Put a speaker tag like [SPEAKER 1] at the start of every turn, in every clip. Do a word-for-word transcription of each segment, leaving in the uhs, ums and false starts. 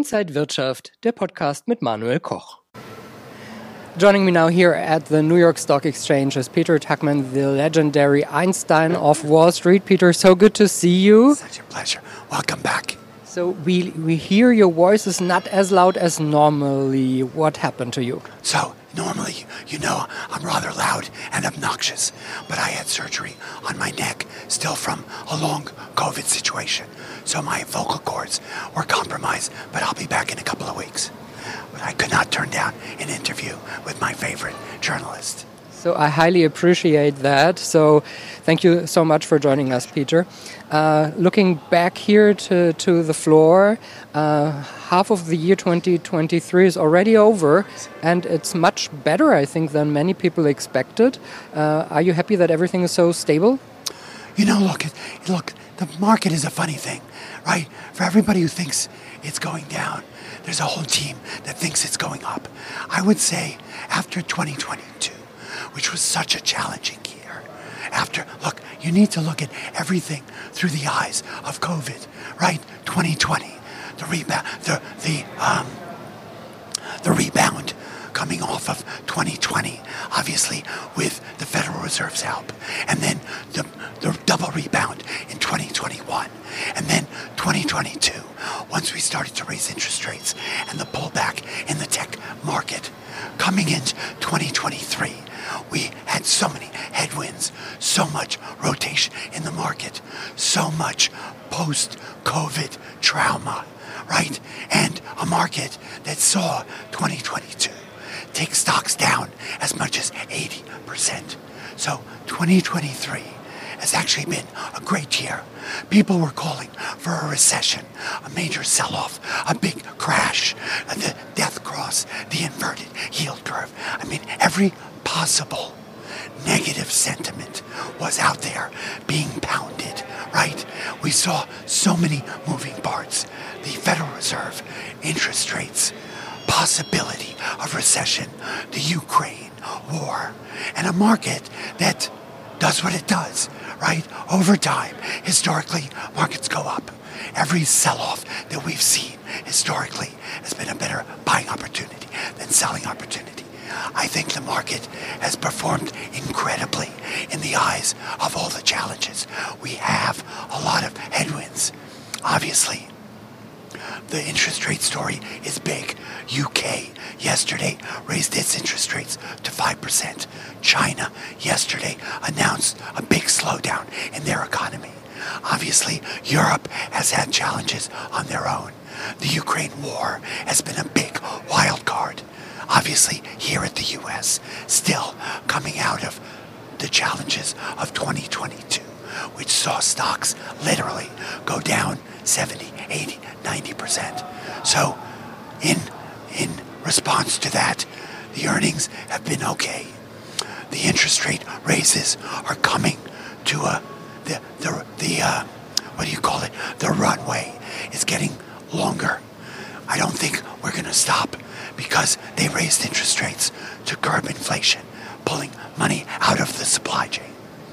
[SPEAKER 1] Inside Wirtschaft, der Podcast mit Manuel Koch. Joining me now here at the New York Stock Exchange is Peter Tuchman, the legendary Einstein of Wall Street. Peter, so good to see you.
[SPEAKER 2] Such a pleasure. Welcome back.
[SPEAKER 1] So we we hear your voice is not as loud as normally. What happened to you?
[SPEAKER 2] So normally, you know, I'm rather loud and obnoxious, but I had surgery on my neck, still from a long COVID situation. So my vocal cords were compromised, but I'll be back in a couple of weeks. But I could not turn down an interview with my favorite journalist.
[SPEAKER 1] So I highly appreciate that. So thank you so much for joining us, Peter. Uh, looking back here to, to the floor, uh, half of the year twenty twenty-three is already over, and it's much better, I think, than many people expected. Uh, are you happy that everything is so stable?
[SPEAKER 2] You know, look, look, the market is a funny thing, right? For everybody who thinks it's going down, there's a whole team that thinks it's going up. I would say after twenty twenty-two, which was such a challenging year, after, look, you need to look at everything through the eyes of COVID, right? twenty twenty, the rebound, the, the, um, the rebound coming off of twenty twenty, obviously with the Federal Reserve's help, and then the, the double rebound in twenty twenty-one, and then twenty twenty-two, once we started to raise interest rates and the pullback in the tech market. Coming into twenty twenty-three, we had so many headwinds, so much rotation in the market, so much post-COVID trauma, right? And a market that saw twenty twenty-two take stocks down as much as eighty percent. So twenty twenty-three has actually been a great year. People were calling for a recession, a major sell-off, a big crash, the death cross, the inverted yield curve. I mean, every possible negative sentiment was out there being pounded, right? We saw so many moving parts. The Federal Reserve, interest rates, possibility of recession, the Ukraine war, and a market that does what it does, right? Over time, historically, markets go up. Every sell-off that we've seen historically has been a better buying opportunity than selling opportunity. I think the market has performed incredibly in the eyes of all the challenges. We have a lot of headwinds. Obviously, the interest rate story is big. U K yesterday raised its interest rates to five percent. China yesterday announced a big slowdown in their economy. Obviously, Europe has had challenges on their own. The Ukraine war has been a big wild card. Obviously, here at the U S, still coming out of the challenges of twenty twenty-two, which saw stocks literally go down seventy, eighty, ninety percent. So, in in response to that, the earnings have been okay. The interest rate raises are coming to a the the the uh, what do you call it? The runway is getting longer. I don't think we're going to stop because they raised interest rates to curb inflation, pulling money out of the supply chain,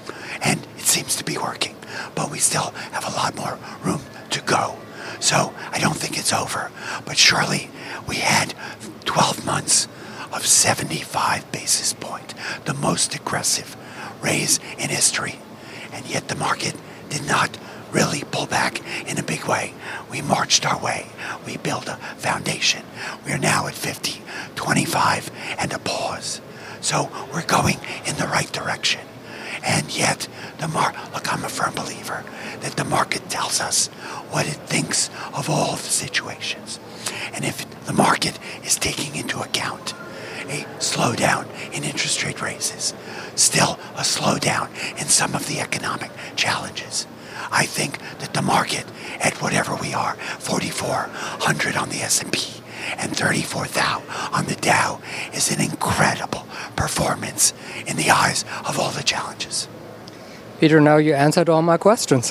[SPEAKER 2] and it seems to be working. But we still have a lot more room to go. So I don't think it's over. But surely we had twelve months of seventy-five basis point, the most aggressive raise in history. And yet the market did not really pull back in a big way. We marched our way. We built a foundation. We're now at fifty, twenty-five, and a pause. So we're going in the right direction. And yet, the mar- look, I'm a firm believer that the market tells us what it thinks of all of the situations. And if the market is taking into account a slowdown in interest rate raises, still a slowdown in some of the economic challenges, I think that the market, at whatever we are, forty-four hundred on the S and P and thirty-four thousand on the Dow, is an incredible performance in the eyes of all the challenges.
[SPEAKER 1] Peter, now you answered all my questions.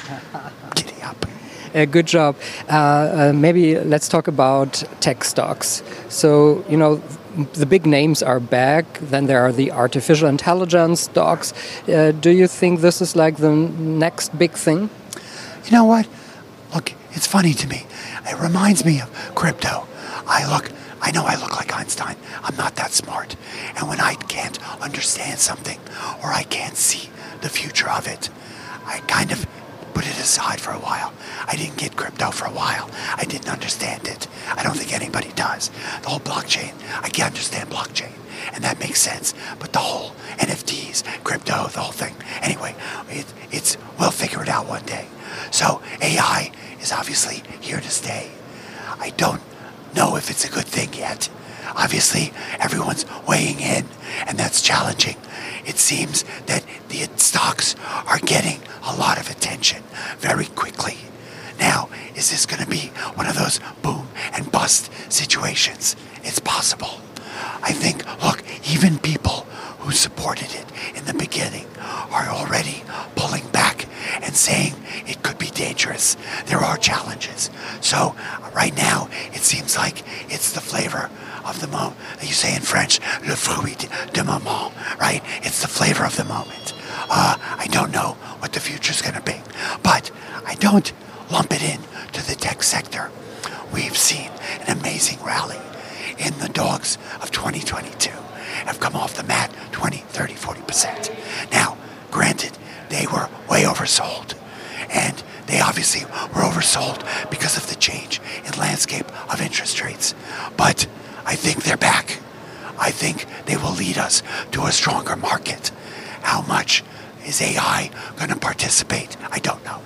[SPEAKER 2] Giddy up.
[SPEAKER 1] Uh, good job. Uh, uh, maybe let's talk about tech stocks. So, you know, the big names are back. Then there are the artificial intelligence stocks. Uh, do you think this is like the next big thing?
[SPEAKER 2] You know what? Look, it's funny to me. It reminds me of crypto. I look, I know I look like Einstein. I'm not that smart. And when I can't understand something or I can't see the future of it, I kind of put it aside for a while. I didn't get crypto for a while. I didn't understand it. I don't think anybody does. The whole blockchain, I can't understand blockchain. And that makes sense. But the whole N F Ts, crypto, the whole thing. Anyway, it, it's we'll figure it out one day. So A I is obviously here to stay. I don't know if it's a good thing yet. Obviously, everyone's weighing in, and that's challenging. It seems that the stocks are getting a lot of attention very quickly. Now, is this going to be one of those boom and bust situations? It's possible. I think, look, even people who supported it in the beginning are already pulling back and saying it could be dangerous. There are challenges. So right now, it seems like it's the flavor of the moment. You say in French, le fruit du moment, right? It's the flavor of the moment. Uh, I don't know what the future's going to be, but I don't lump it in to the tech sector. We've seen an amazing rally in the dogs of twenty twenty-two have come off the mat twenty, thirty, forty percent. Now, granted, they were way oversold, and they obviously were oversold because of the change in landscape of interest rates. But I think they're back. I think they will lead us to a stronger market. How much is A I going to participate? I don't know.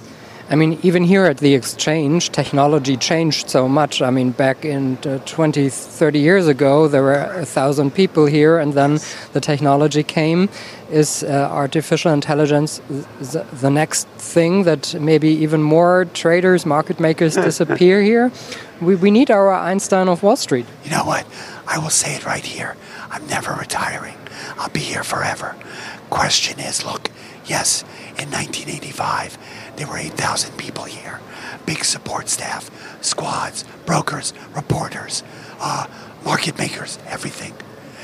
[SPEAKER 1] I mean, even here at the exchange, technology changed so much. I mean, back in uh, twenty, thirty years ago, there were a thousand people here, and then the technology came. Is uh, artificial intelligence th- the next thing that maybe even more traders, market makers disappear here? We, we need our Einstein of Wall Street.
[SPEAKER 2] You know what? I will say it right here. I'm never retiring. I'll be here forever. Question is, look, yes, in nineteen eighty-five, there were eight thousand people here. Big support staff, squads, brokers, reporters, uh, market makers, everything.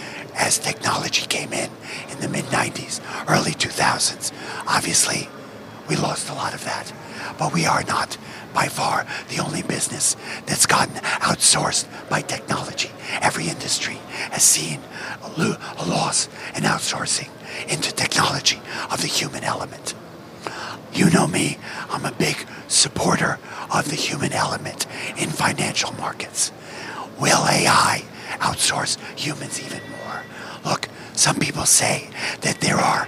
[SPEAKER 2] As technology came in in the mid nineties, early two thousands, obviously we lost a lot of that. But we are not, by far, the only business that's gotten outsourced by technology. Every industry has seen a, lo- a loss in outsourcing into technology of the human element. You know me, I'm a big supporter of the human element in financial markets. Will A I outsource humans even more? Look, some people say that there are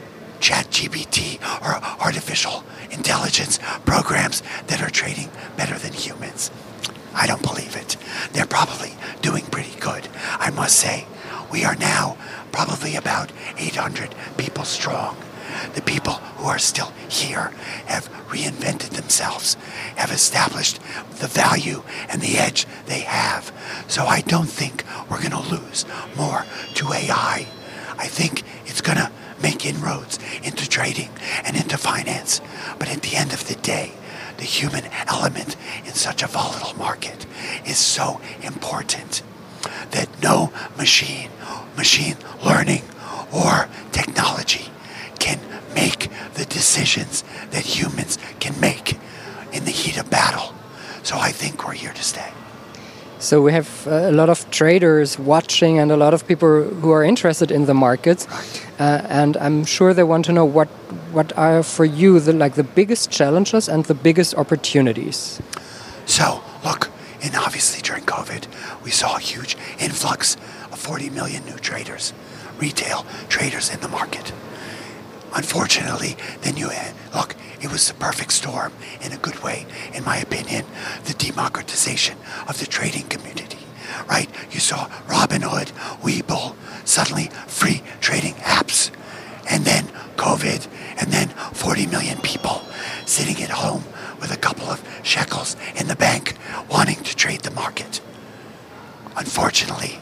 [SPEAKER 2] ChatGPT or artificial intelligence programs that are trading better than humans. I don't believe it. They're probably doing pretty good. I must say, we are now probably about eight hundred people strong. The people who are still here have reinvented themselves, have established the value and the edge they have. So I don't think we're going to lose more to A I. I think it's going to make inroads into trading and into finance. But at the end of the day, the human element in such a volatile market is so important that no machine, machine learning, or technology can make the decisions that humans can make in the heat of battle. So I think we're here to stay.
[SPEAKER 1] So we have a lot of traders watching and a lot of people who are interested in the markets, uh, and I'm sure they want to know what what are for you the like the biggest challenges and the biggest opportunities.
[SPEAKER 2] So look, and obviously during COVID, we saw a huge influx of forty million new traders, retail traders in the market. Unfortunately, then you had, look, it was the perfect storm in a good way, in my opinion, the democratization of the trading community, right? You saw Robinhood, Webull, suddenly free trading apps, and then COVID, and then forty million people sitting at home with a couple of shekels in the bank wanting to trade the market. Unfortunately,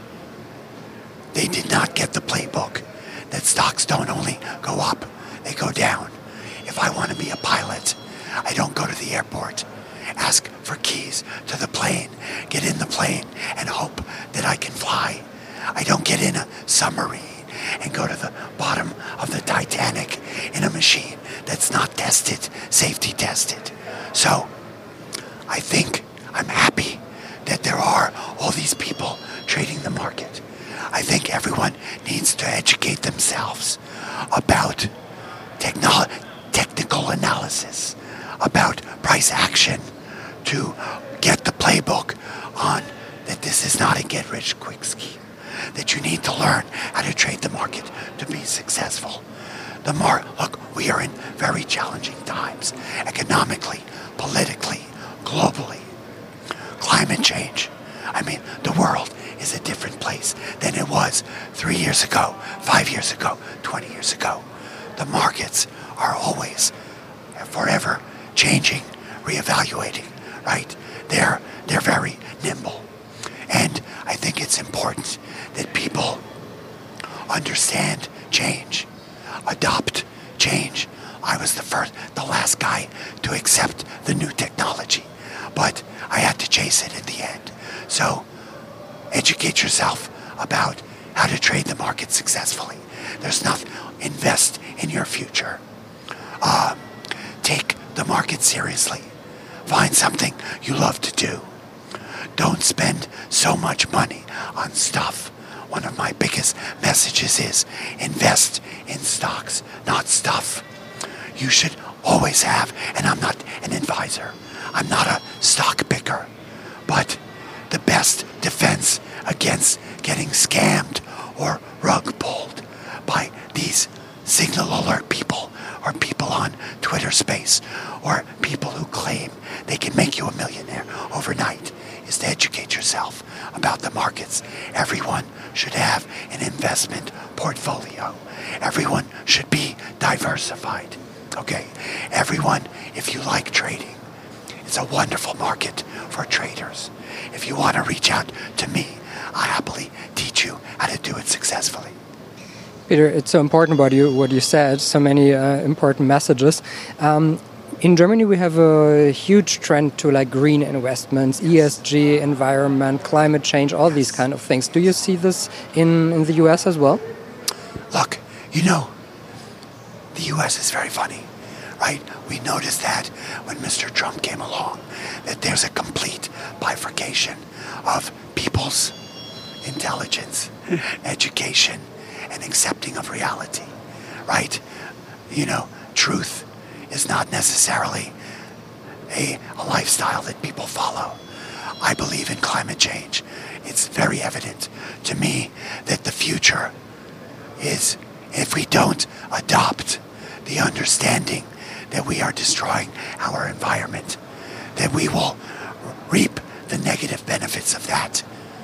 [SPEAKER 2] they did not get the playbook that stocks don't only go up, they go down. If I want to be a pilot, I don't go to the airport, ask for keys to the plane, get in the plane, and hope that I can fly. I don't get in a submarine and go to the bottom of the Titanic in a machine that's not tested, safety tested. So, I think I'm happy that there are all these people trading the market. I think everyone needs to educate themselves about technolo- technical analysis, about price action, to get the playbook on that this is not a get-rich-quick scheme, that you need to learn how to trade the market to be successful. The mar- Look, we are in very challenging times, economically, politically, globally. Climate change. I mean, the world is a different place than it was three years ago, five years ago, twenty years ago. The markets are always, forever changing, reevaluating, right? They're, they're very nimble. And I think it's important that people understand change, adopt change. I was the first, the last guy to accept the new technology, but I had to chase it in the end. So educate yourself about how to trade the market successfully. There's nothing. Invest in your future. Uh, take the market seriously. Find something you love to do. Don't spend so much money on stuff. One of my biggest messages is invest in stocks, not stuff. You should always have, and I'm not an advisor, I'm not a stock picker, but the best defense against getting scammed or rug pulled by these signal alert people or people on Twitter Space or people who claim they can make you a millionaire overnight is to educate yourself about the markets. Everyone should have an investment portfolio. Everyone should be diversified. Okay? Everyone, if you like trading, it's a wonderful market for traders. If you want to reach out to me, I happily teach you how to do it successfully.
[SPEAKER 1] Peter, it's so important what you what you said. So many uh, important messages. Um, in Germany, we have a huge trend to like green investments, E S G, environment, climate change, all these kind of things. Do you see this in, in the U S as well?
[SPEAKER 2] Look, you know, the U S is very funny, right? We noticed that when Mister Trump came along, that there's a complete bifurcation of people's intelligence, education, and accepting of reality, right? You know, truth is not necessarily a, a lifestyle that people follow. I believe in climate change. It's very evident to me that the future is, if we don't adopt the understanding that we are destroying our environment, that we will reap the negative benefits of that.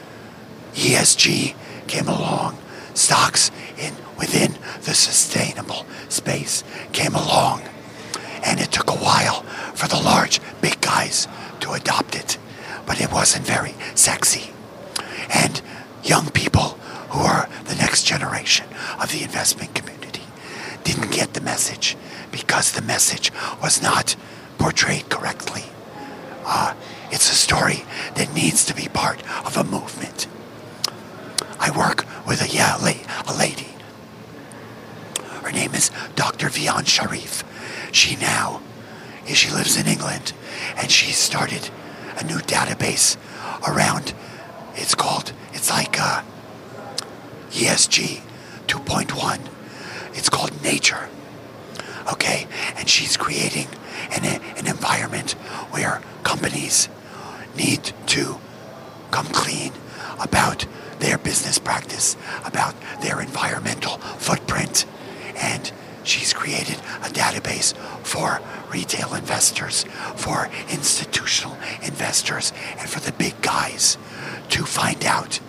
[SPEAKER 2] E S G came along. Stocks in within the sustainable space came along. And it took a while for the large, big guys to adopt it. But it wasn't very sexy. And young people who are the next generation of the investment community didn't get the message because the message was not portrayed correctly. Uh, it's a story that needs to be part of a movement. I work with a, yeah, a lady. Her name is Doctor Vian Sharif. She now, she lives in England, and she started a new database around, it's called, it's like uh, E S G two point one. It's called Nature. Okay, and she's creating an, an environment where companies need to come clean about their business practice, about their environmental footprint. And she's created a database for retail investors, for institutional investors, and for the big guys to find out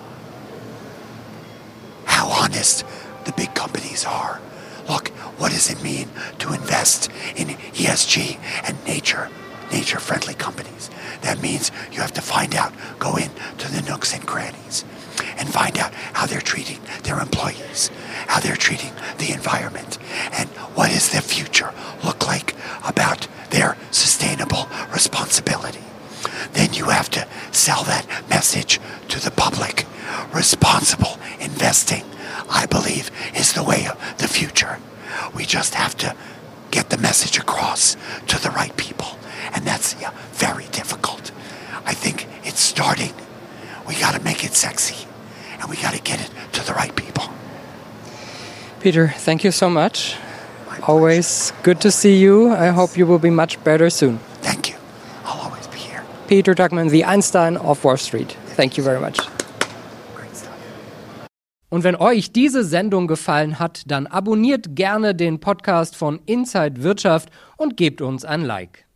[SPEAKER 2] how honest the big companies are. Look, what does it mean to invest in E S G and nature, nature-friendly companies? That means you have to find out, go in to the nooks and crannies, and find out how they're treating their employees, how they're treating the environment, and what does their future look like about their sustainable responsibility. Then you have to sell that message to the public. Responsible investing, I believe, is the way of the future. We just have to get the message across to the right people. And that's yeah, very difficult. I think it's starting. We got to make it sexy, and we got to get it to the right people.
[SPEAKER 1] Peter, thank you so much. Always good to see you. I hope you will be much better soon.
[SPEAKER 2] Thank you. I'll always be here.
[SPEAKER 1] Peter Tuchman, the Einstein of Wall Street. Thank you very much.
[SPEAKER 2] Great stuff.
[SPEAKER 1] Und wenn euch diese Sendung gefallen hat, dann abonniert gerne den Podcast von Inside Wirtschaft und gebt uns ein Like.